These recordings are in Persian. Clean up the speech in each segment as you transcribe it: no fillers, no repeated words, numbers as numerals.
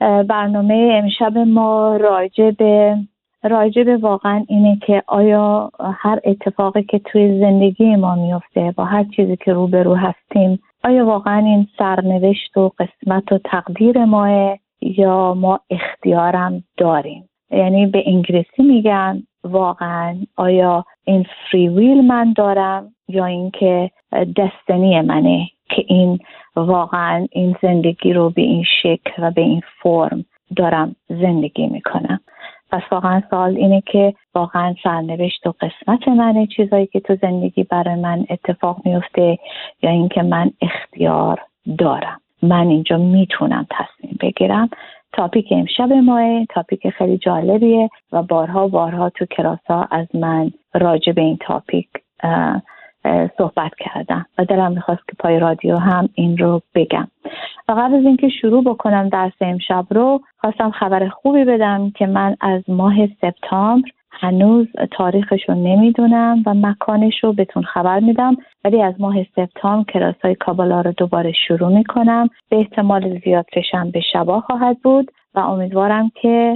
برنامه امشب ما راجع به واقعا اینه که آیا هر اتفاقی که توی زندگی ما میفته، با هر چیزی که روبرو هستیم، آیا واقعا این سرنوشت و قسمت و تقدیر ماه یا ما اختیارم داریم؟ یعنی به انگلیسی میگن واقعا آیا این فری ویل من دارم یا اینکه دستنی منه که این واقعا این زندگی رو به این شکل و به این فرم دارم زندگی میکنم. پس واقعا سوال اینه که واقعا سرنوشت و قسمت منه چیزایی که تو زندگی برای من اتفاق میفته یا اینکه من اختیار دارم، من اینجا میتونم تصمیم بگیرم. تاپیک امشب ماه تاپیک خیلی جالبیه و بارها تو کلاس‌ها از من راجع به این تاپیک صحبت کردم و دلم میخواست که پای رادیو هم این رو بگم. و قبل از اینکه شروع بکنم درس امشب رو، خواستم خبر خوبی بدم که من از ماه سپتامبر هنوز تاریخش رو نمیدونم و مکانش رو بهتون خبر میدم، ولی از ماه سپتامبر کلاس‌های کابالا رو دوباره شروع میکنم. به احتمال زیاد به شبا خواهد بود و امیدوارم که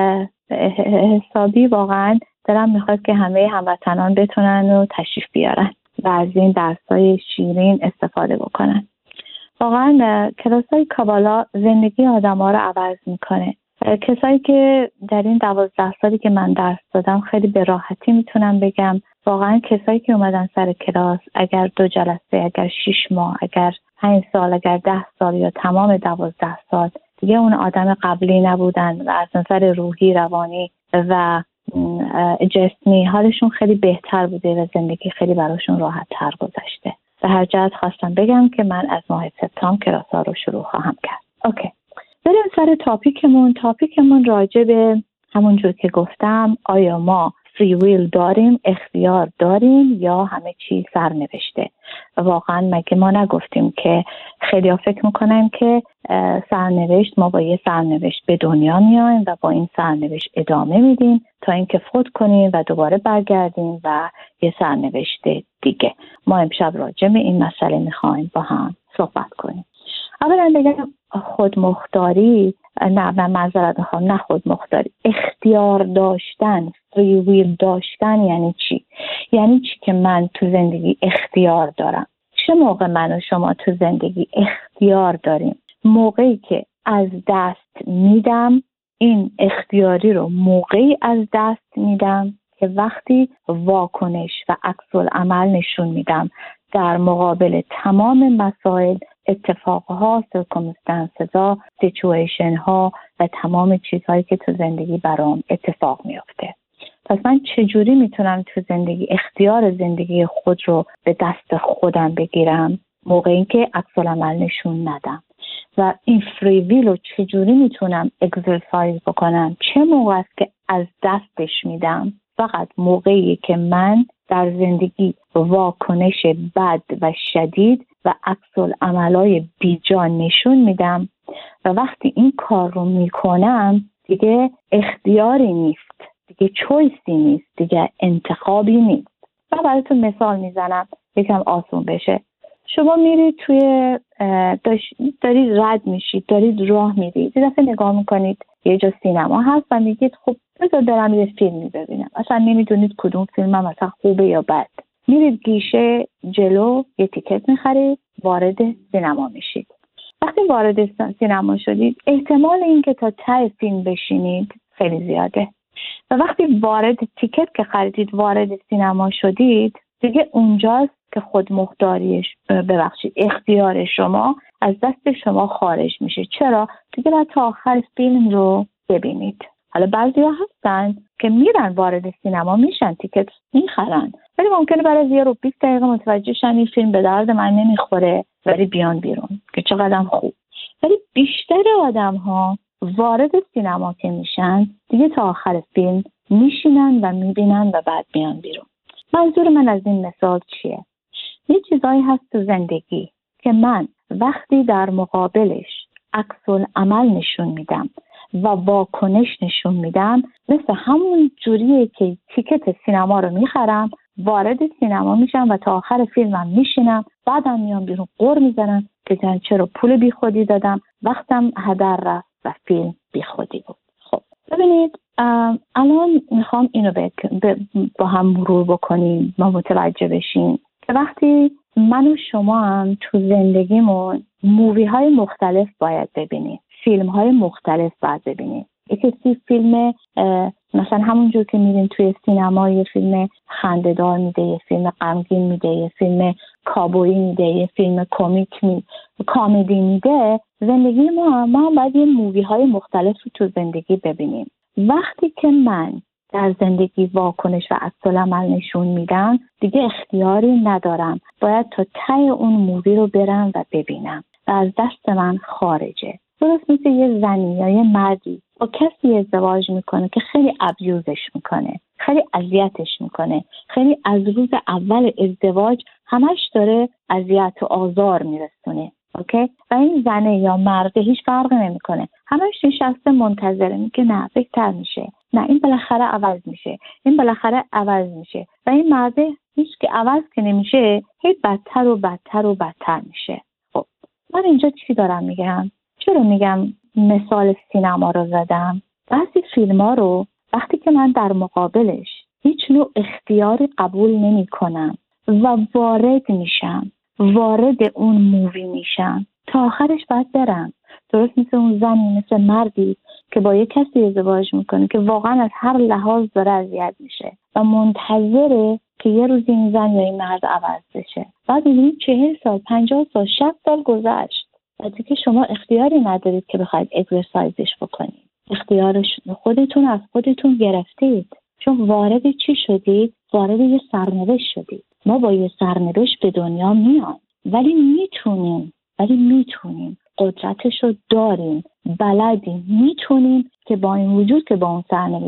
حسابی واقعا دلم میخواد که همه هموطنان بتونن و تشریف بیارن و از این درس‌های شیرین استفاده بکنن. واقعا کلاس‌های کابالا زندگی آدم‌ها رو عوض میکنه. کسایی که در این 12 سالی که من درس دادم خیلی به راحتی میتونم بگم واقعا کسایی که اومدن سر کلاس، اگر 2 جلسه، اگر 6 ماه، اگر 5 سال، اگر 10 سال یا تمام 12 سال، دیگه اون آدم قبلی نبودن و از نظر روحی، روانی و جسمی حالشون خیلی بهتر بوده و زندگی خیلی براشون راحت تر گذشته. به هر جهت خواستم بگم که من از ماه سپتامبر کلاس‌ها رو شروع خواهم کرد. اوکی. بریم سر تاپیکمون راجع به همونجور که گفتم، آیا ما فری ویل داریم، اختیار داریم یا همه چی سرنوشته؟ واقعا مگه ما نگفتیم که خیلی ها فکر میکنن که سرنوشت، ما با یه سرنوشت به دنیا میایم و با این سرنوشت ادامه میدیم تا اینکه فوت کنیم و دوباره برگردیم و یه سرنوشت دیگه. ما امشب راجع به این مسئله میخوایم با هم صحبت کنیم. اولا بگم خودمختاری، نه خودمختاری، اختیار داشتن، فری ویل داشتن یعنی چی؟ یعنی چی که من تو زندگی اختیار دارم؟ چه موقع من و شما تو زندگی اختیار داریم؟ موقعی که از دست میدم. این اختیاری رو موقعی از دست میدم که وقتی واکنش و عکس العمل نشون میدم در مقابل تمام مسائل، اتفاقها، سرکمستانس‌ها، سیچویشن‌ها و تمام چیزهایی که تو زندگی برام اتفاق میفته. پس من چجوری میتونم تو زندگی اختیار زندگی خود رو به دست خودم بگیرم موقعی که عکس العمل نشون ندم؟ و این فری ویل رو چجوری میتونم اگزرسایز بکنم؟ چه موقع است که از دستش میدم؟ فقط موقعی که من در زندگی واکنش بد و شدید و عکس العملای بیجا نشون میدم و وقتی این کار رو میکنم دیگه اختیاری نیست، دیگه چویسی نیست، دیگه انتخابی نیست. و براتون مثال میزنم یکم آسون بشه. شما میرید دارید رد میشید، دارید راه میرید، یه دفعه نگاه میکنید یه جا سینما هست و میگید خب بذار برم یه فیلمی ببینم. اصلا نمیدونید کدوم فیلم هم مثلا خوبه یا بد. میرید گیشه جلو یه تیکت میخرید، وارد سینما میشید. وقتی وارد سینما شدید احتمال اینکه تا ته فیلم بشینید خیلی زیاده و وقتی وارد تیکت که خریدید وارد سینما شدید دیگه اونجاست که اختیار شما از دست شما خارج میشه. چرا؟ دیگه باید تا آخر فیلم رو ببینید. حالا بعضیا هستن که میرن وارد سینما میشن، تیکت میخرن، ولی ممکنه بعد از 10 رو 20 دقیقه متوجه شن این فیلم به درد من نمیخوره ولی بیان بیرون که چقدر خوب. ولی بیشتر آدم ها وارد سینما که میشن دیگه تا آخر فیلم میشینن و میبینن و بعد بیان بیرون. منظور من از این مثال چیه؟ یه چیزایی هست تو زندگی که من وقتی در مقابلش عکس العمل نشون میدم و واکنش نشون میدم، مثل همون جوریه که تیکت سینما رو میخرم، وارد سینما میشم و تا آخر فیلمم میشینم، بعدم میام بیرون قر میزنم که چرا پول بی خودی دادم، وقتم هدر رفت و فیلم بی خودی بود. خب ببینید الان میخوام اینو با هم مرور بکنیم، ما متوجه بشیم که وقتی من و شما هم تو زندگیمون مووی های مختلف باید ببینیم، فیلم های مختلف باید ببینیم. یکی فیلم مثلا همونجور که میریم توی سینما یه فیلم خنده‌دار میده، یه فیلم غمگین میده، یه فیلم کابویی میده، یه فیلم کمدی میده. زندگی ما باید یه مووی های مختلف رو تو زندگی ببینیم. وقتی که من در زندگی واکنش و عکس‌العمل نشون میدم دیگه اختیاری ندارم، باید تا ته اون مووی رو برم و ببینم و از دست من خارجه. درست مثل یه زنی یا یه مردی با کسی ازدواج میکنه که خیلی ابیوزش میکنه، خیلی اذیتش میکنه، خیلی از روز اول ازدواج همش داره اذیت و آزار میرسونه، اوکی؟ و این زنه یا مرده هیچ فرق نمیکنه، همش نشسته منتظره، میگه نه بهتر میشه، نه این بالاخره عوض میشه، این بالاخره عوض میشه، و این مرده هیچ که عوض که نمیشه، هی بدتر و بدتر و بدتر میشه. خب من اینجا چی دارم میگم؟ چرا میگم مثال سینما رو زدم؟ بعضی فیلم ها رو وقتی که من در مقابلش هیچ نوع اختیاری قبول نمی کنم و وارد اون مووی میشم، تا آخرش باید برم. درست مثل اون زنی، مثل مردی که با یک کسی ازدواج میکنه که واقعا از هر لحاظ داره اذیت میشه و منتظره که یه روز این زن یا این مرد عوض بشه. بعد میبینید 40 سال، 50 سال، 60 سال گذشت و دیگه شما اختیاری ندارید که بخواید اگزرسایزش بکنید. اختیارش خودتون از خودتون گرفتید، چون وارد چی شدید؟ وارد یه سرنوشت شدید. ما با یه سرنوشت به دنیا میایم، ولی میتونیم قدرتش رو داریم، بلدیم، میتونیم که با این وجود که با اون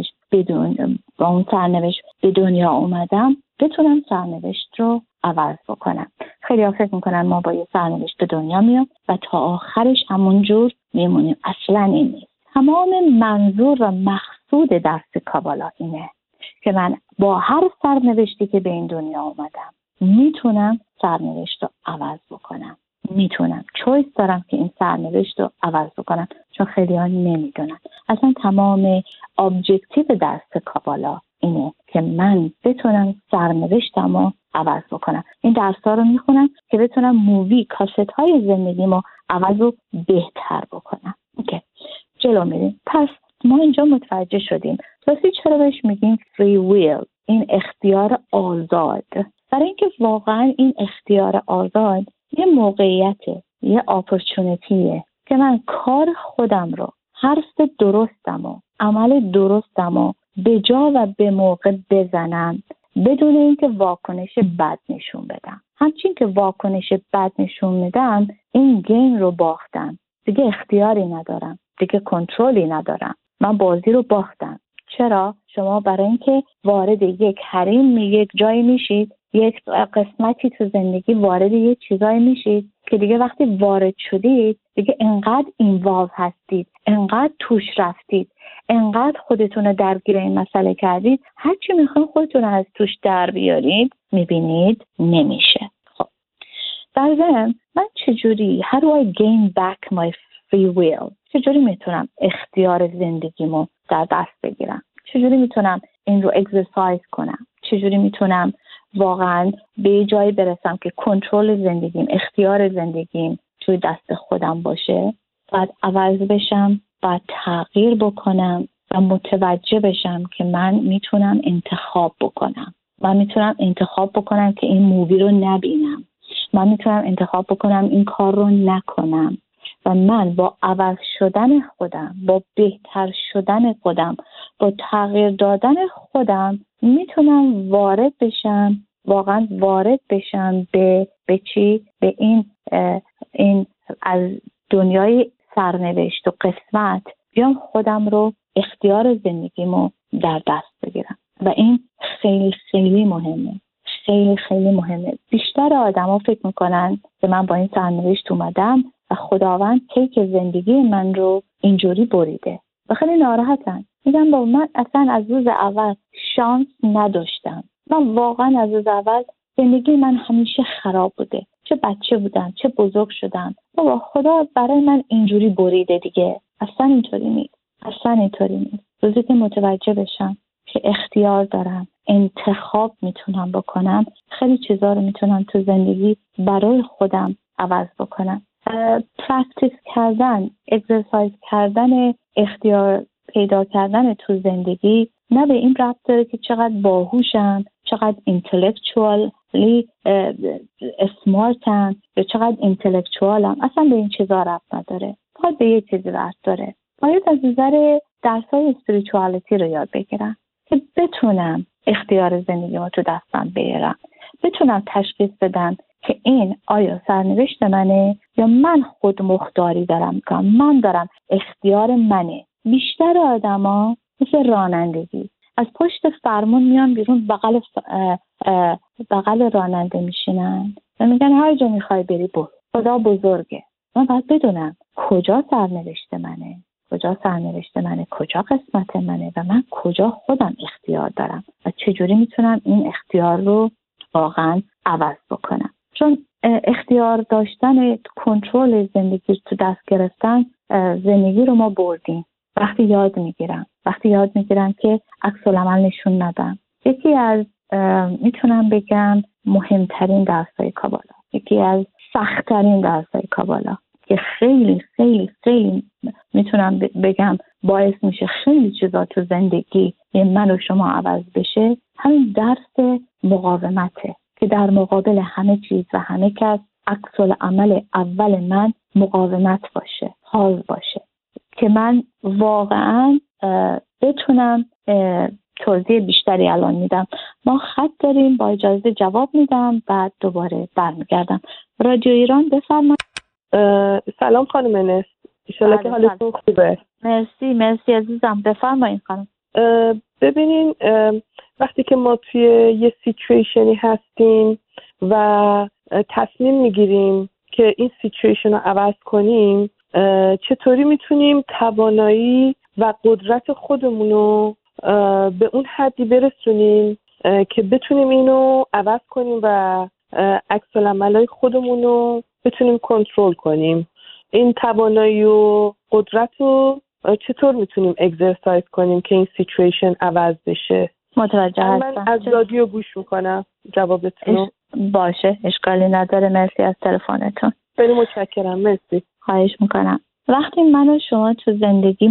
سرنوشت به دنیا اومدم بتونم سرنوشت رو عوض بکنم. خیلی ها فکر میکنن ما با یه سرنوشت به دنیا میام و تا آخرش همونجور میمونیم. اصلا این نیست. تمام منظور و مقصود درس کابالا اینه که من با هر سرنوشتی که به این دنیا اومدم میتونم سرنوشت رو عوض بکنم، میتونم چویس دارم که این سرنوشت رو عوض بکنم، چون خیلی ها نمیدونن. اصلا تمام ابجکتیو درس کابالا اینه که من بتونم سرنوشتم رو عوض بکنم. این درس ها رو میخونم که بتونم مووی کاست های زندگیمو عوض و بهتر بکنم. اوکی، جلو میریم. پس ما اینجا متوجه شدیم راستی چرا بهش میگیم فری ویل، این اختیار آزاد. برای اینکه واقعا این اختیار آزاد یه موقعیته، یه اپورتونتیه که من کار خودم رو، حرف درستم و عمل درستم و به جا و به موقع بزنم بدون اینکه واکنش بد نشون بدم. همچین که واکنش بد نشون میدم این گیم رو باختم، دیگه اختیاری ندارم، دیگه کنترلی ندارم، من بازی رو باختم. چرا؟ شما برای اینکه وارد یک حریم یک جایی میشید، یک قسمتی تو زندگی وارد یک چیزایی میشید که دیگه وقتی وارد شدید دیگه انقدر اینوالو هستید، انقدر توش رفتید، انقدر خودتون رو درگیر این مسئله کردید، هرچی میخواین خودتون از توش در بیارید میبینید نمیشه. خب در ضمن من چجوری how do I gain back my free will؟ چجوری میتونم اختیار زندگیمو در دست بگیرم؟ چجوری میتونم این رو اگزرسایز کنم؟ چجوری میتونم واقعا به جایی برسم که کنترل زندگیم، اختیار زندگیم توی دست خودم باشه؟ باید عوض بشم، باید تغییر بکنم و متوجه بشم که من میتونم انتخاب بکنم. من میتونم انتخاب بکنم که این مووی رو نبینم. من میتونم انتخاب بکنم این کار رو نکنم. و من با عوض شدن خودم، با بهتر شدن خودم، با تغییر دادن خودم میتونم وارد بشم، واقعا وارد بشم به چی؟ به این از دنیای سرنوشت و قسمت بیام خودم رو، اختیار زندگیمو در دست بگیرم. و این خیلی خیلی مهمه، خیلی خیلی مهمه. بیشتر آدما فکر میکنن که من با این سرنوشت اومدم و خداوند کیک زندگی من رو اینجوری بریده و خیلی ناراحتن. میگم با من اصلا از روز اول شانس نداشتم. من واقعا از روز اول زندگی من همیشه خراب بوده، چه بچه بودم چه بزرگ شدم. بابا خدا برای من اینجوری بریده دیگه، اصلا اینطوری نیست. اصلا اینطوری نیست. روزی که متوجه بشم که اختیار دارم، انتخاب میتونم بکنم، خیلی چیزا رو میتونم تو زندگی برای خودم عوض بکنم. پرکتیس کردن، اکسرسایز کردن، اختیار پیدا کردن تو زندگی نه به این ربط داره که چقدر باهوشم، چقدر اینتלקچوالی اسمارتم یا چقدر اینتלקچوالم. اصلا به این چیزا ربط نداره. فقط به یه چیزی ربط داره. باید از نظر درسای اسپریچوالیتی رو یاد بگیرم که بتونم اختیار زندگیمو تو دستم بیارم، بتونم تشخیص بدم که این آیا سرنوشت منه یا من خود مختاری دارم میکنم، من دارم، اختیار منه. بیشتر آدما مثل رانندگی از پشت فرمون میان بیرون، بغل راننده میشینن و میگن هر جا میخوای بری برو، خدا بزرگه. من باید بدونم کجا سرنوشت منه، کجا قسمت منه و من کجا خودم اختیار دارم و چجوری میتونم این اختیار رو واقعا عوض بکنم. چون اختیار داشتن، کنترل زندگی تو دست گرفتن زندگی رو ما بردیم. وقتی یاد میگیرم که عکس العمل نشون ندم. یکی از میتونم بگم مهمترین درسای کابالا، یکی از سخت‌ترین درسای کابالا که خیلی خیلی خیلی میتونم بگم باعث میشه خیلی چیزا تو زندگی من و شما عوض بشه، همین درس مقاومته که در مقابل همه چیز و همه کس عکس العمل اول من مقاومت باشه، حاضر باشه که من واقعا بتونم. توضیح بیشتری الان میدم. ما خط داریم، با اجازه جواب میدم بعد دوباره برمیگردم. رادیو ایران بفرمایید. سلام خانم انس، انشالله که حالتون خوبه. مرسی عزیزم، بفرمایید خانم. ببینین وقتی که ما توی یه سیچویشنی هستیم و تصمیم میگیریم که این سیچویشن رو عوض کنیم، چطوری میتونیم توانایی و قدرت خودمون رو به اون حدی برسونیم که بتونیم اینو عوض کنیم و عکس العملای خودمون رو بتونیم کنترل کنیم. این توانایی و قدرت رو چطور میتونیم اکسرسایز کنیم که این سیچویشن عوض بشه؟ متوجه هستم. من از رادیو گوش میکنم جوابتون رو. باشه، اشکالی نداره. مرسی از تلفنتون. خیلی متشکرم. مرسی. خواهش میکنم. وقتی من و شما تو زندگی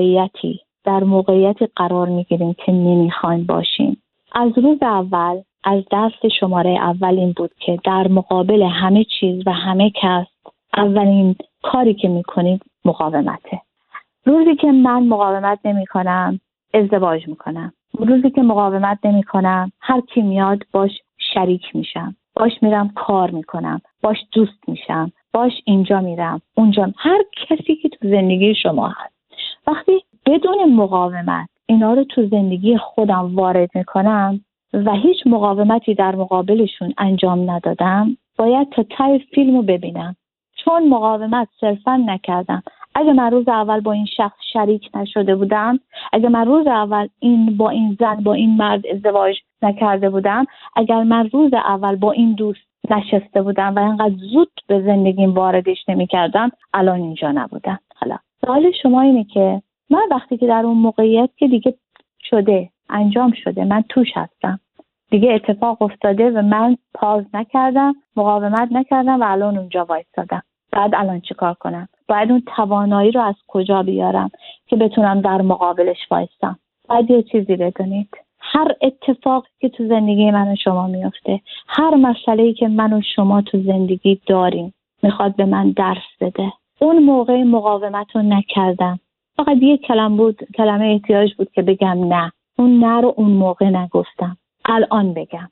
در موقعیتی قرار میگیریم که نمیخوایم باشیم، از روز اول، از دست شماره اول این بود که در مقابل همه چیز و همه کس اولین کاری که میکنید مقاومته. روزی که من مقاومت نمی کنم ازدواج میکنم. روزی که مقاومت نمی کنم هر کی میاد باش شریک میشم، باش میرم کار میکنم، باش دوست میشم، باش اینجا میرم اونجا. هر کسی که تو زندگی شما هست، وقتی بدون مقاومت اینا رو تو زندگی خودم وارد میکنم و هیچ مقاومتی در مقابلشون انجام ندادم، باید تا ته فیلمو ببینم. چون مقاومت صرفا نکردم. اگه من روز اول با این شخص شریک نشده بودم، اگه من روز اول با این زن، با این مرد ازدواج نکرده بودم، اگر من روز اول با این دوست نشسته بودم و اینقدر زود به زندگیم واردش نمی‌کردم، الان اینجا نبودم. حالا سوال شما اینه که من وقتی که در اون موقعیت که دیگه شده، انجام شده، من توش هستم، دیگه اتفاق افتاده و من پاز نکردم، مقاومت نکردم و الان اونجا وایسادم، بعد الان چیکار کنم؟ باید اون توانایی رو از کجا بیارم که بتونم در مقابلش وایسم؟ باید یه چیزی بدونید، هر اتفاقی که تو زندگی من و شما میفته، هر مسئله‌ای که من و شما تو زندگی داریم، میخواد به من درس بده. اون موقع مقاومت رو نکردم، فقط یه کلمه احتیاج بود که بگم نه. اون نه رو اون موقع نگفتم، الان بگم،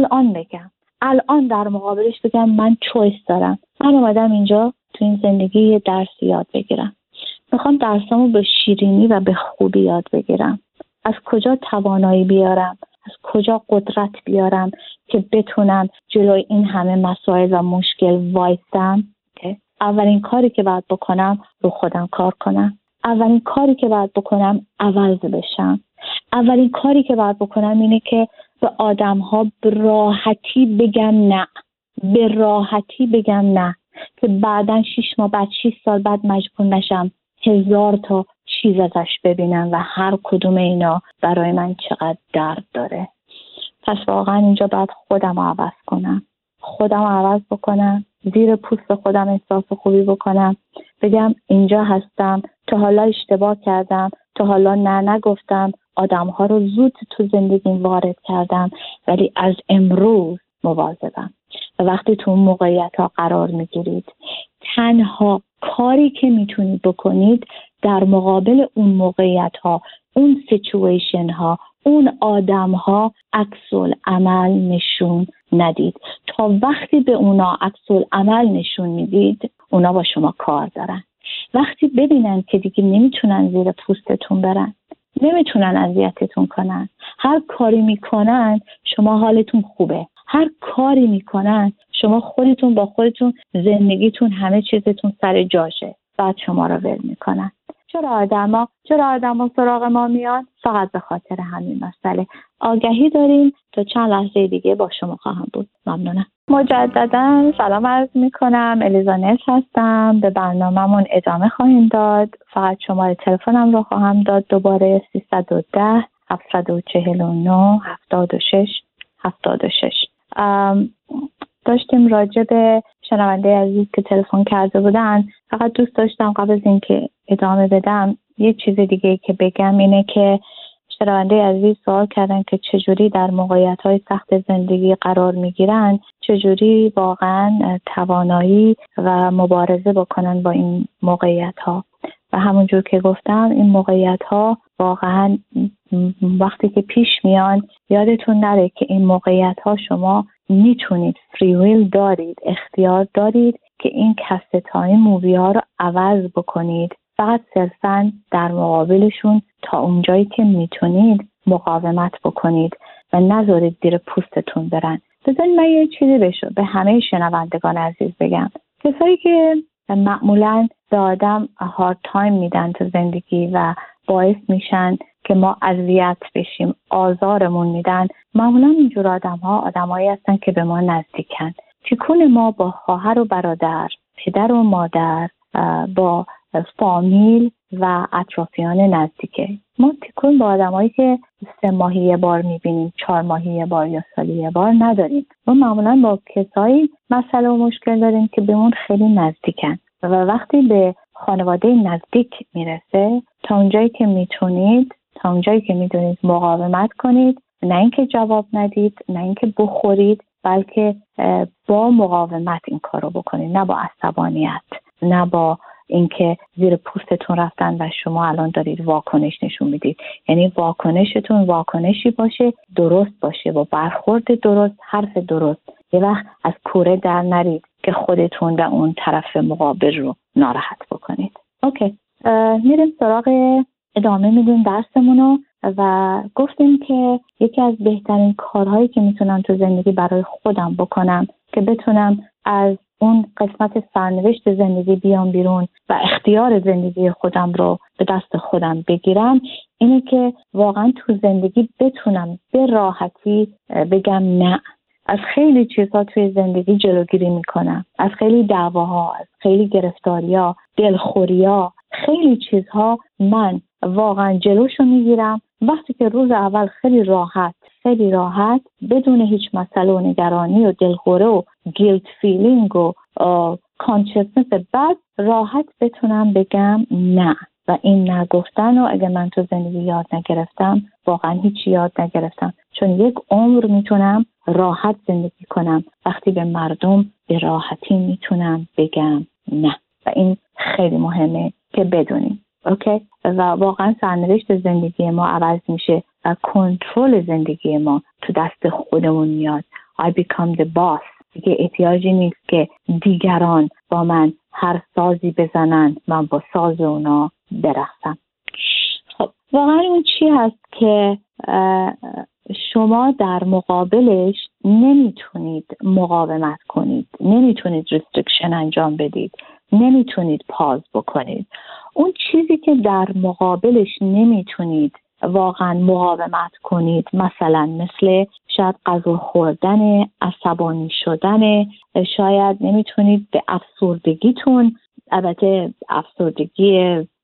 الان در مقابلش بگم من چویس دارم. من اومدم اینجا تو این زندگی یه درس یاد بگیرم. میخوام درسامو به شیرینی و به خوبی یاد بگیرم. از کجا توانایی بیارم، از کجا قدرت بیارم که بتونم جلوی این همه مسائل و مشکل وایسم. اولین کاری که باید بکنم رو خودم کار کنم. اولین کاری که باید بکنم عوض بشم. اولین کاری که باید بکنم اینه که به آدم‌ها به راحتی بگم نه که بعداً 6 ماه بعد، 6 سال بعد مجبور نشم 1000 تا چیز ازش ببینم و هر کدوم اینا برای من چقدر درد داره. پس واقعا اینجا باید خودم رو عوض کنم، خودم رو عوض بکنم، زیر پوست خودم احساس خوبی بکنم، بگم اینجا هستم، تا حالا اشتباه کردم، تا حالا نه نگفتم، آدم‌ها رو زود تو زندگیم وارد کردم، ولی از امروز مواظبم. و وقتی تو اون موقعیت‌ها قرار میگیرید، تنها کاری که میتونید بکنید در مقابل اون موقعیت‌ها، اون سیچویشن‌ها، اون آدم‌ها عکس‌العمل نشون ندید. تا وقتی به اونا عکس‌العمل نشون میدید، اونا با شما کار دارن. وقتی ببینن که دیگه نمیتونن زیر پوستتون برن، نمیتونن اذیتتون کنن، هر کاری میکنن شما حالتون خوبه، هر کاری میکنن شما خودتون با خودتون، زندگیتون همه چیزتون سر جاشه، بعد شما رو ول میکنن. چرا آدما سراغ ما میان؟ فقط به خاطر همین مسئله. آگهی داریم. تا چند لحظه دیگه با شما خواهم بود. ممنونم. مجددا سلام عرض میکنم. الیزانت هستم. به برنامه‌مون ادامه خواهیم داد. فقط شماره تلفنم رو خواهم داد دوباره: 310 749 76 داشتیم راجع به شنونده عزیز که تلفن کرده بودن. فقط دوست داشتم قبل از اینکه ادامه بدم یه چیز دیگه که بگم اینه که شنونده عزیز سوال کردن که چجوری در موقعیت‌های سخت زندگی قرار میگیرن، چجوری واقعا توانایی و مبارزه بکنن با این موقعیت‌ها. و همونجور که گفتم این موقعیت‌ها واقعا وقتی که پیش میان یادتون نره که این موقعیت‌ها شما میتونید، فری ویل دارید، اختیار دارید که این کست تایم مووی ها رو عوض بکنید. فقط صرفاً در مقابلشون تا اونجایی که میتونید مقاومت بکنید و نذارید زیر پوستتون برن. بذارید من یه چیزی به همه شنوندگان عزیز بگم. کسایی که معمولاً به آدم هارد تایم میدن تو زندگی و باعث میشن که ما اذیت بشیم، آزارمون میدن، معمولا اینجور آدمایی هستن که به ما نزدیکن. تکون ما با خواهر و برادر، پدر و مادر، با فامیل و اطرافیان نزدیکه. ما تکون با آدمایی که 3 ماهی یه بار میبینیم، 4 ماهی یه بار یا سالی یه بار نداریم. ما معمولا با کسایی مسئله و مشکل داریم که بهمون خیلی نزدیکن و وقتی به خانواده نزدیک میرسه، تا اونجایی که میتونید، تا اونجایی که میدونید مقاومت کنید. نه اینکه جواب ندید، نه اینکه بخورید، بلکه با مقاومت این کارو بکنید، نه با عصبانیت، نه با اینکه زیر پوستتون رفتن و شما الان دارید واکنش نشون میدید. یعنی واکنشتون واکنشی باشه، درست باشه، با برخورد درست، حرف درست. یه وقت از کوره در نرید که خودتون و اون طرف مقابل رو ناراحت بکنید. اوکی، میریم سراغ ادامه میدیم درسمونو و گفتیم که یکی از بهترین کارهایی که میتونم تو زندگی برای خودم بکنم که بتونم از اون قسمت سرنوشت زندگی بیام بیرون و اختیار زندگی خودم رو به دست خودم بگیرم، اینه که واقعا تو زندگی بتونم به راحتی بگم نه. از خیلی چیزها توی زندگی جلوگیری میکنم، از خیلی دعواها، از خیلی گرفتاری‌ها، دلخوری‌ها، خیلی چیزها من واقعا جلوشو میگیرم. وقتی که روز اول خیلی راحت بدون هیچ مسئله و نگرانی و دلخوره و گیلت فیلینگ و کانشسنس بد راحت بتونم بگم نه. و این نگفتن رو اگه من تو زندگی یاد نگرفتم، واقعا هیچی یاد نگرفتم، چون یک عمر میتونم راحت زندگی کنم وقتی به مردم به راحتی میتونم بگم نه. و این خیلی مهمه که بدونیم. اوکی؟ و واقعا سرنوشت زندگی ما عوض میشه و کنترل زندگی ما تو دست خودمون میاد. I become the boss. دیگه احتیاجی نیست که دیگران با من هر سازی بزنن، من با ساز اونا برقصم. خب واقعا اون چی هست که شما در مقابلش نمیتونید مقاومت کنید، نمیتونید ریستریکشن انجام بدید، نمیتونید پاز بکنید. اون چیزی که در مقابلش نمیتونید واقعا مقاومت کنید، مثل شاید غذا خوردن، عصبانی شدن، شاید نمیتونید به افسردگیتون، البته افسردگی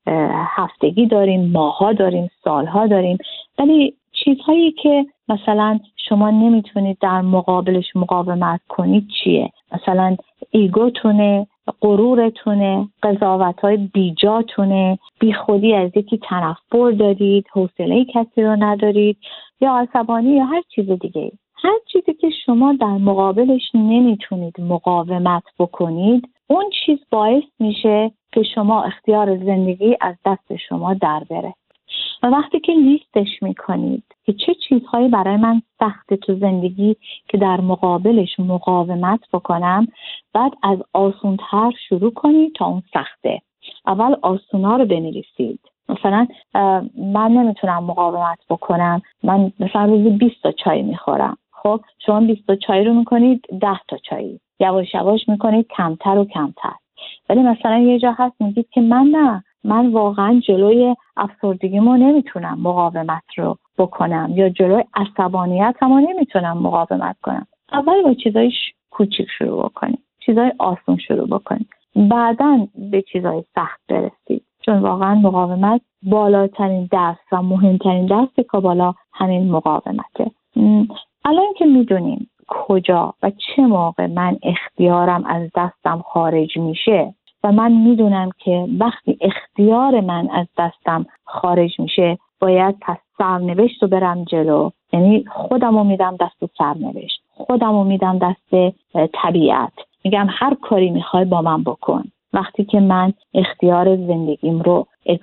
هفتگی داریم، ماه‌ها داریم، سال‌ها داریم، ولی چیزهایی که مثلا شما نمیتونید در مقابلش مقاومت کنید چیه؟ مثلا ایگوتونه، غرورتونه، قضاوت‌های بیجاتونه، بیخودی از یکی تنفر دارید، حوصله کسی رو ندارید، یا عصبانی یا هر چیز دیگه. هر چیزی که شما در مقابلش نمیتونید مقاومت بکنید، اون چیز باعث میشه که شما اختیار زندگی از دست شما در بره. و وقتی که لیستش میکنید که چه چیزهایی برای من سخته تو زندگی که در مقابلش مقاومت بکنم، بعد از آسونتر شروع کنید تا اون سخته. اول آسونا رو بنویسید. مثلا من نمیتونم مقاومت بکنم، من مثلا روزی 20 تا چای میخورم. خب شما 20 تا چای رو میکنید 10 تا چای، یواش یواش میکنید کمتر و کمتر. ولی مثلا یه جا هست میگید که من واقعا جلوی افسردگیمو نمیتونم مقاومت رو بکنم، یا جلوی عصبانیتمو نمیتونم مقاومت کنم. اول با چیزای کوچیک شروع بکنید، چیزای آسون شروع بکنید، بعداً به چیزای سخت برسید. چون واقعا مقاومت بالاترین درس و مهمترین درس کابالا همین مقاومته. الان که میدونیم کجا و چه موقع من اختیارم از دستم خارج میشه و من میدونم که وقتی اختیار من از دستم خارج میشه باید پس سرنوشت رو برم جلو، یعنی خودمو میدم دست سرنوشت، خودمو میدم دست طبیعت، میگم هر کاری میخوای با من بکن. وقتی که من اختیار زندگیم رو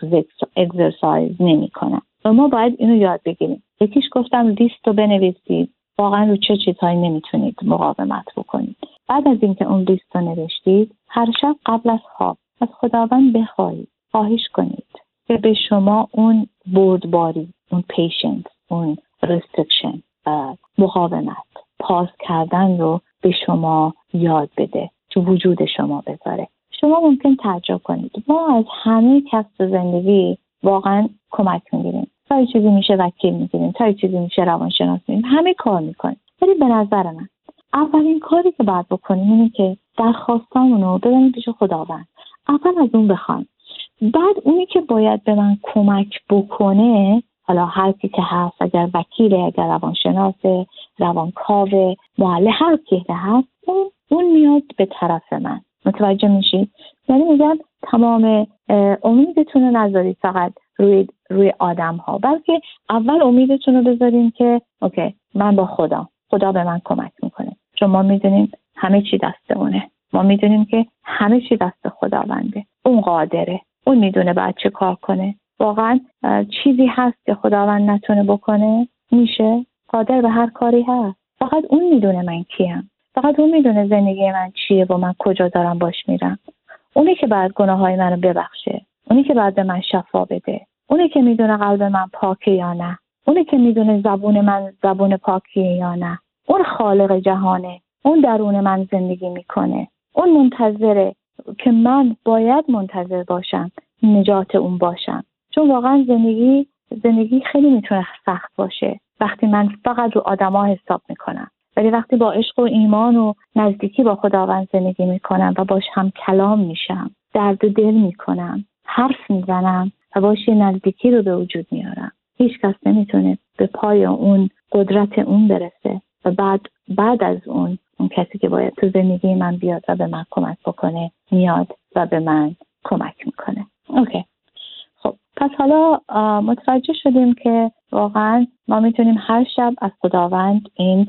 اگزرسایز نمی کنم و ما باید اینو یاد بگیریم. یکیش گفتم لیست رو بنویسید، واقعا رو چه چیزهایی نمیتونید مقاومت بکنید. بعد از اینکه اون لیست رو نوشتید، هر شب قبل از خواب از خداوند بخواهید، خواهش کنید که به شما اون بردباری، اون پیشنس، اون ریستریکشن، مقاومت، پاس کردن رو به شما یاد بده، تو وجود شما بذاره. شما ممکن تعجب کنید ما از همه کسب زندگی واقعا کمک میگیریم، تا یه چیزی میشه وکیل میگیریم، تا یه چیزی میشه روانشناس میگیریم، همه کار میکنیم. ولی به نظر من اولین کاری که باید بکنیم اینه که درخواستامون رو ببریم پیش خداوند. اول از اون بخوایم، بعد اونی که باید به من کمک بکنه، حالا هر کی که هست، اگر وکیله، اگر روانشناسه، روانکاوه، معلم، هر کی که هست، اون میاد به طرف من. متوجه میشید؟ یعنی میگم تمام امیدتون رو نذارید فقط روی آدم ها، بلکه اول امیدتون رو بذارین که اوکی، من با خدا به من کمک میکنه. چون ما میدونیم همه چی دست اونه، ما میدونیم که همه چی دست خداونده، اون قادره، اون میدونه بعد چه کار کنه. واقعا چیزی هست که خداوند نتونه بکنه؟ میشه، قادر به هر کاری هست. فقط اون میدونه من کیم، فقط اون میدونه زندگی من چیه و من کجا دارم باش میرم. اونی که بعد گناههای منو ببخشه، اونی که بعد به من شفا بده، اونی که میدونه قلب من پاکه یا نه، اونی که میدونه زبون من زبون پاکیه یا نه. اون خالق جهانه، اون درون من زندگی میکنه، اون منتظره که من باید منتظر باشم، نجات اون باشم. چون واقعا زندگی خیلی میتونه سخت باشه وقتی من فقط رو آدما حساب میکنم، ولی وقتی با عشق و ایمان و نزدیکی با خداوند زندگی میکنم و باش هم کلام میشم، درد دل میکنم، حرف میزنم و باش نزدیکی رو به وجود میارم، هیچ کس نمیتونه به پای اون قدرت اون برسه. و بعد از اون کسی که باید تو زندگی من بیاد و به من کمک بکنه میاد و به من کمک میکنه. اوکی. خب پس حالا متوجه شدیم که واقعا ما میتونیم هر شب از خداوند این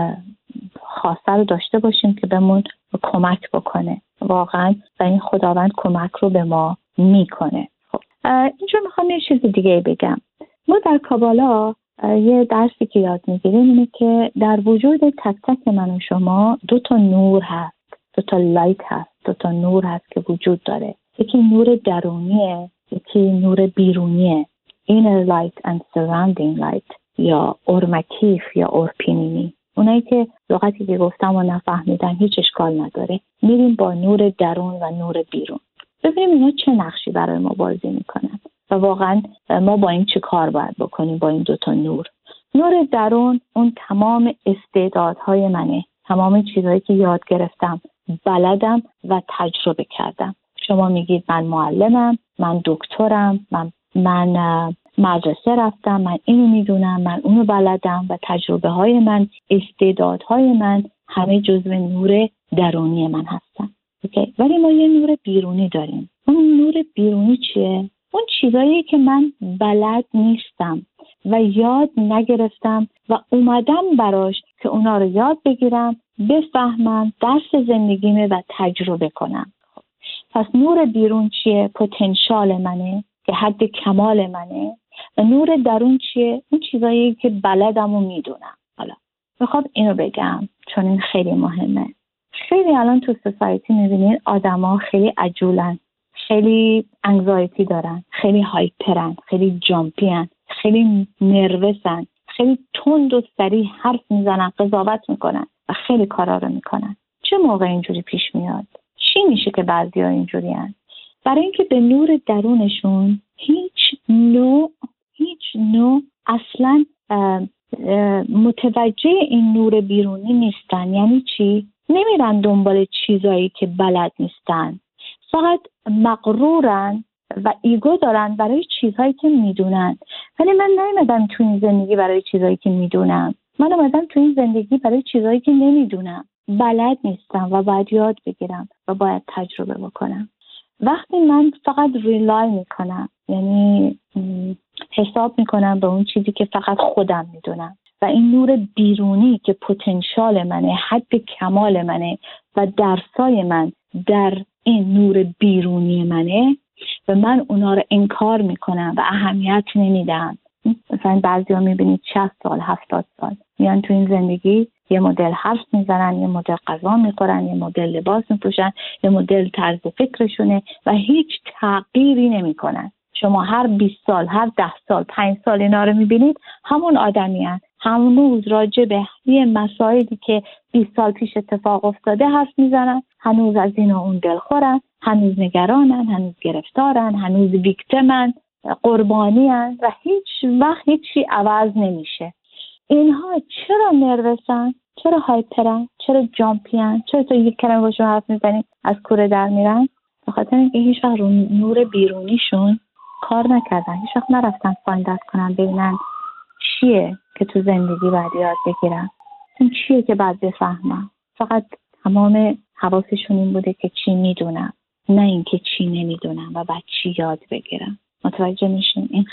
خواسته رو داشته باشیم که بهمون کمک بکنه واقعا، و این خداوند کمک رو به ما میکنه. خب اینجا میخوام یه چیز دیگه بگم. ما در کابالا یه درسی که یاد میگیریم اینه که در وجود تک تک من و شما 2 نور هست، 2 لایت هست، 2 نور هست که وجود داره. یکی نور درونیه، یکی نور بیرونیه، inner light and surrounding light، یا اورمکیف یا اورپینینی. اونایی که لغتی که گفتم و نفهمیدن هیچ اشکال نداره، میریم با نور درون و نور بیرون، ببینیم اینا چه نقشی برای ما بازی میکنن و واقعا ما با این چه کار باید بکنیم با این 2 نور. نور درون اون تمام استعدادهای منه، تمام چیزهایی که یاد گرفتم، بلدم و تجربه کردم. شما میگید من معلمم، من دکترم، من مدرسه رفتم، من اینو میدونم، من اونو بلدم و تجربه های من، استعدادهای من همه جزو نور درونی من هستن. اوکی؟ ولی ما یه نور بیرونی داریم. اون نور بیرونی چیه؟ اون چیزایی که من بلد نیستم و یاد نگرفتم و اومدم براش که اونا رو یاد بگیرم، بفهمم، درس زندگیمه و تجربه کنم. پس نور بیرون چیه؟ پتانسیل منه که حد کمال منه. و نور درون چیه؟ اون چیزایی که بلدم و میدونم. حالا میخوام اینو بگم چون این خیلی مهمه. خیلی الان تو سوسایتی میبینین آدما خیلی عجولن، خیلی انگزایتی دارن، خیلی هایپرن، خیلی جامپین، خیلی نروسن، خیلی تند و سریع حرف میزنن، قضاوت میکنن و خیلی کارا رو میکنن. چه موقع اینجوری پیش میاد؟ چی میشه که بعضیا اینجوری هن؟ برای اینکه به نور درونشون هیچ نوع اصلا متوجه این نور بیرونی نیستن. یعنی چی؟ نمیرن دنبال چیزایی که بلد نیستن، فقط مغرورن و ایگو دارن برای چیزهایی که میدونن. ولی من نیومدم تو این زندگی برای چیزهایی که میدونم، من اومدم تو این زندگی برای چیزهایی که نمیدونم، بلد نیستم و باید یاد بگیرم و باید تجربه بکنم. وقتی من فقط ریلای میکنم، یعنی حساب میکنم به اون چیزی که فقط خودم میدونم و این نور بیرونی که پتانسیل منه، حد کمال منه و درسای من در این نور بیرونی منه و من اونا رو انکار میکنم و اهمیت نمیدم. مثلا بعضیا میبینید 60 سال 70 سال میان تو این زندگی یه مدل حرف میزنن، یه مدل غذا میخورن، یه مدل لباس میپوشن، یه مدل طرز فکرشونه و هیچ تغییری نمیکنن. شما هر 20 سال، هر 10 سال، 5 سال اینا رو میبینید همون آدمی هست، هنوز راجع به یه مسائلی که 20 سال پیش اتفاق افتاده حرف میزنن، هنوز از این و اون دلخورن، هنوز نگرانن، هنوز گرفتارن، هنوز ویکتیمن، قربانیان و هیچ وقت هیچی عوض نمیشه. اینها چرا نروسن؟ چرا هایپرن؟ چرا جامپین؟ چرا تو یک کلمه باشون حرف میزنی از کوره در میرن؟ به خاطر اینکه هیچ وقت رو نور بیرونیشون کار نکردن، هیچ وقت نرفتن فایندت کنن ببینن چیه که تو زندگی باید یاد بگیرن، این چیه که باید بفهمن. فقط تمام حواسشون این بوده که چی میدونم، نه اینکه چی نمیدونم و بعد چی یاد بگیرم. متوجه میشین؟ این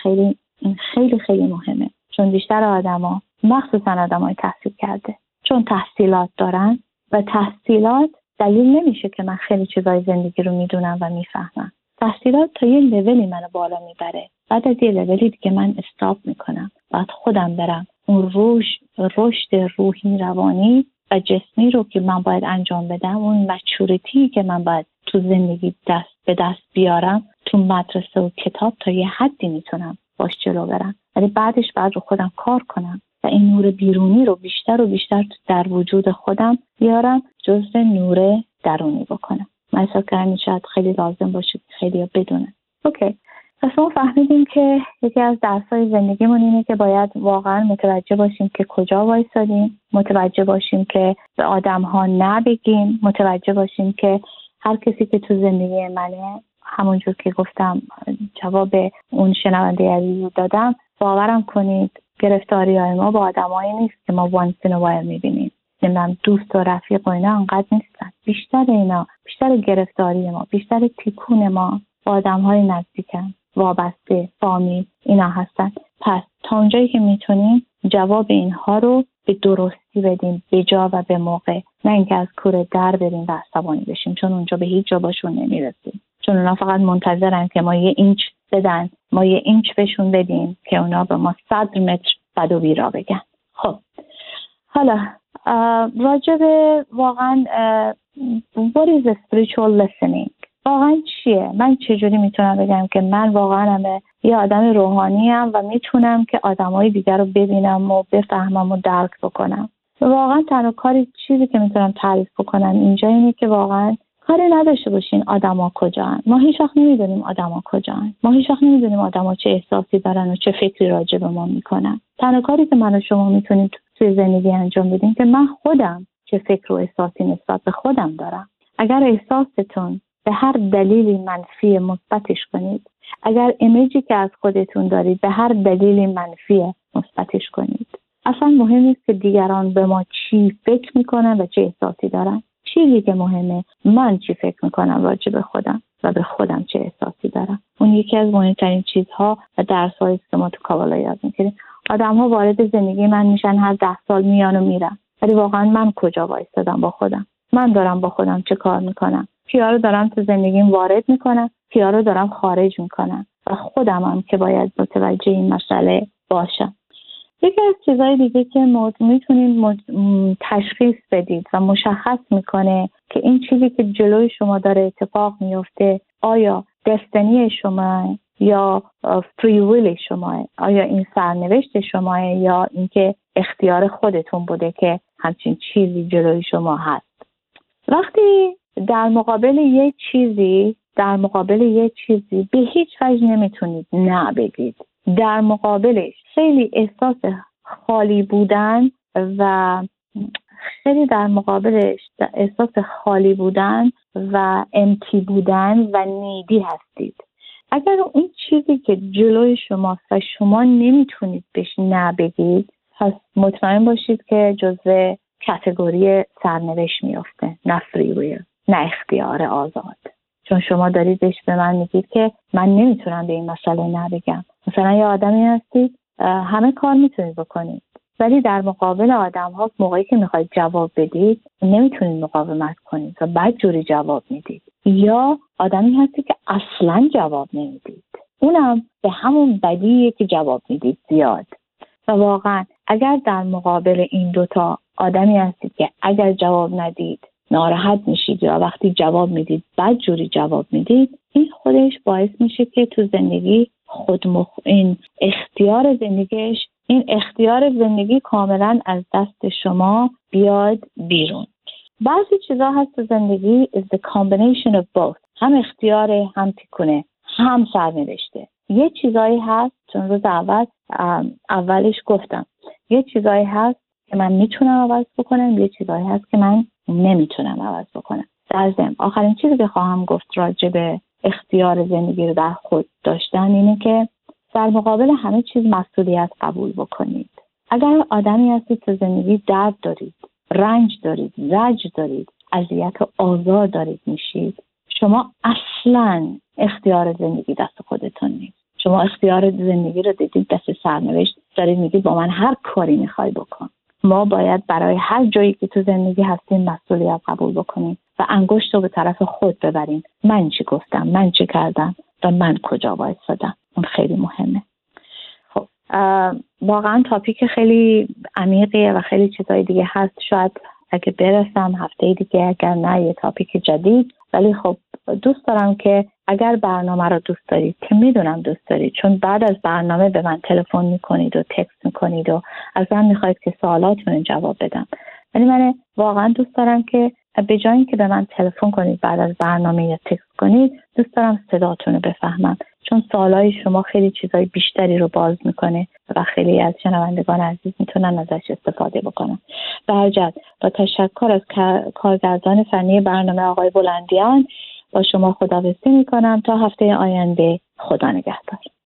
خیلی خیلی مهمه، چون بیشتر آدما، مخصوصا آدمای تحصیل کرده، چون تحصیلات دارن و تحصیلات دلیل نمیشه که من خیلی چیزای زندگی رو میدونم و میفهمم. تحصیلات تا یه لولی منو بالا میبره، بعد از یه لولی دیگه من استاپ میکنم، بعد خودم برم اون رشد روحی، روانی و جسمی رو که من باید انجام بدم، اون مچورتی که من باید تو زندگی دست به دست بیارم، تو مدرسه و کتاب تا یه حدی میتونم باش جلو برم، ولی بعدش باید رو خودم کار کنم و این نور بیرونی رو بیشتر و بیشتر در وجود خودم بیارم، جزء نور درونی بکنم. من احساس کردم شاید خیلی لازم باشه خیلی ها بدونن. اوکی، پس ما فهمیدیم که یکی از درس‌های زندگیمون اینه که باید واقعا متوجه باشیم که کجا وایسادیم، متوجه باشیم که به آدم‌ها نبگیم، متوجه باشیم که هر کسی که تو زندگی منه، همونجور که گفتم جواب اون شنونده عزیز دادم، باورم کنید گرفتاری‌های ما با آدمایی نیست که ما once in a while می‌بینیم. نمیدونم دوست و رفیق و اینا انقدر نیستن. بیشتر گرفتاری ما، بیشتر تیکون ما با آدم‌های نزدیکن، وابسته، فامیل اینا هستن. پس تا اونجایی که میتونیم جواب اینها رو به درستی بدیم، به جا و به موقع، نه اینکه از کوره در بریم و عصبانی بشیم، چون اونجا به هیچ جا باشون نمیرسیم، چون اونا فقط منتظرن که ما 1 اینچ بدن، ما 1 اینچ بهشون بدیم که اونا به ما 100 متر بد و بیرا بگن. خب حالا راجع به واقعا what is a spiritual listening واقعا چیه؟ من چجوری میتونم بگم که من واقعا یه آدم روحانی ام و میتونم که آدمای دیگر رو ببینم و بفهمم و درک بکنم؟ واقعا تنها چیزی که میتونم تعریف بکنم اینجا اینه که واقعا کاری نداشته باشین آدما کجان. ما هیچ وقت نمیدونیم آدما کجان. ما هیچ وقت نمیدونیم آدما چه احساسی دارن و چه فکری راجع به ما میکنن. تنها کاری که من و شما میتونیم توی زندگی انجام بدیم که من خودم چه فکر و احساسی نسبت به خودم دارم. اگر احساستون به هر دلیلی منفی مثبتش کنید. اگر ایمیجی که از خودتون دارید به هر دلیلی منفی مثبتش کنید. اصلا مهم نیست که دیگران به ما چی فکر میکنن و چه احساسی دارن. چیزی که مهمه من چی فکر میکنم راجع به خودم و به خودم چه احساسی دارم. اون یکی از مهمترین چیزها و درس‌هایی که ما تو کابالا یاد میگیریم. آدم‌ها وارد زندگی من میشن، هر 10 سال میان و میرن، ولی واقعا من کجا وایستادم با خودم؟ من دارم با خودم چه کار میکنم؟ کیا رو دارم تو زندگیم وارد میکنم، کیا رو دارم خارج میکنم و خودمم که باید متوجه این مسئله باشم. یکی از چیزهای دیگه که میتونید تشخیص بدید و مشخص میکنه که این چیزی که جلوی شما داره اتفاق میفته آیا دستنی شما یا فری ویل شما، آیا این سرنوشت شما یا اینکه اختیار خودتون بوده که همچین چیزی جلوی شما هست. وقتی در مقابل یه چیزی به هیچ وجه نمیتونید نه بگید، در مقابلش خیلی احساس خالی بودن و امتی بودن و نیدی هستید. اگر این چیزی که جلوی شماست و شما نمیتونید بهش نه بگید، پس مطمئن باشید که جزو کاتگوری سرنوشت میافته، نه فری ویل، نه اختیار آزاد. چون شما دارید بهش به من میگید که من نمیتونم به این مسئله نه بگم. مثلا یه آدمی هستید همه کار میتونید بکنید، ولی در مقابل آدم ها موقعی که میخواید جواب بدید نمیتونید مقاومت کنید و بدجوری جواب میدید. یا آدمی هستید که اصلا جواب نمیدید، اونم به همون بدیه که جواب میدید زیاد. و واقعا اگر در مقابل این دوتا آدمی هستید که اگر جواب ندید ناراحت میشید یا وقتی جواب میدید بدجوری جواب میدید، این خودش باعث میشه که تو زندگی این اختیار زندگی کاملا از دست شما بیاد بیرون. بعضی چیزا هست تو زندگی is the combination of both، هم اختیار، هم تکونه، هم سرنوشته. یه چیزایی هست چون روز اولش گفتم یه چیزایی هست که من میتونم عوض بکنم، یه چیزایی هست که من نمیتونم عوض بکنم. در ضمن آخرین چیزی که خواهم گفت راجع به اختیار زندگی رو در خود داشتن اینه که در مقابل همه چیز مسئولیت قبول بکنید. اگر آدمی هستید تو زندگی درد دارید، رنج دارید، زجر دارید، اذیت و آزار دارید میشید، شما اصلاً اختیار زندگی دست خودتون نیست. شما اختیار زندگی رو دیدید دست سرنوشت، دارید میگید با من هر کاری میخوای بکن. ما باید برای هر جایی که تو زندگی هستیم مسئولیت قبول بکنیم و انگشت رو به طرف خود ببریم. من چی گفتم، من چی کردم و من کجا وایسادم. اون خیلی مهمه. خب واقعا تاپیک خیلی عمیقیه و خیلی چیزای دیگه هست. شاید اگه برسم هفته دیگه، اگر نه یه تاپیک جدید. ولی خب دوست دارم که اگر برنامه رو دوست دارید، که میدونم دوست دارید، چون بعد از برنامه به من تلفن میکنید و تکست میکنید و از من میخواید که سوالاتون رو جواب بدم. ولی من واقعا دوست دارم که به جای اینکه به من تلفن کنید بعد از برنامه یا تکست کنید، دوست دارم صداتون رو بفهمم، چون سوالای شما خیلی چیزای بیشتری رو باز میکنه و خیلی از شنوندگان عزیز میتونن ازش استفاده بکنن. به هر جهت با تشکر از کارگردان فنی برنامه آقای بلندیان با شما خداحافظی میکنم تا هفته آینده. خدا نگهدار.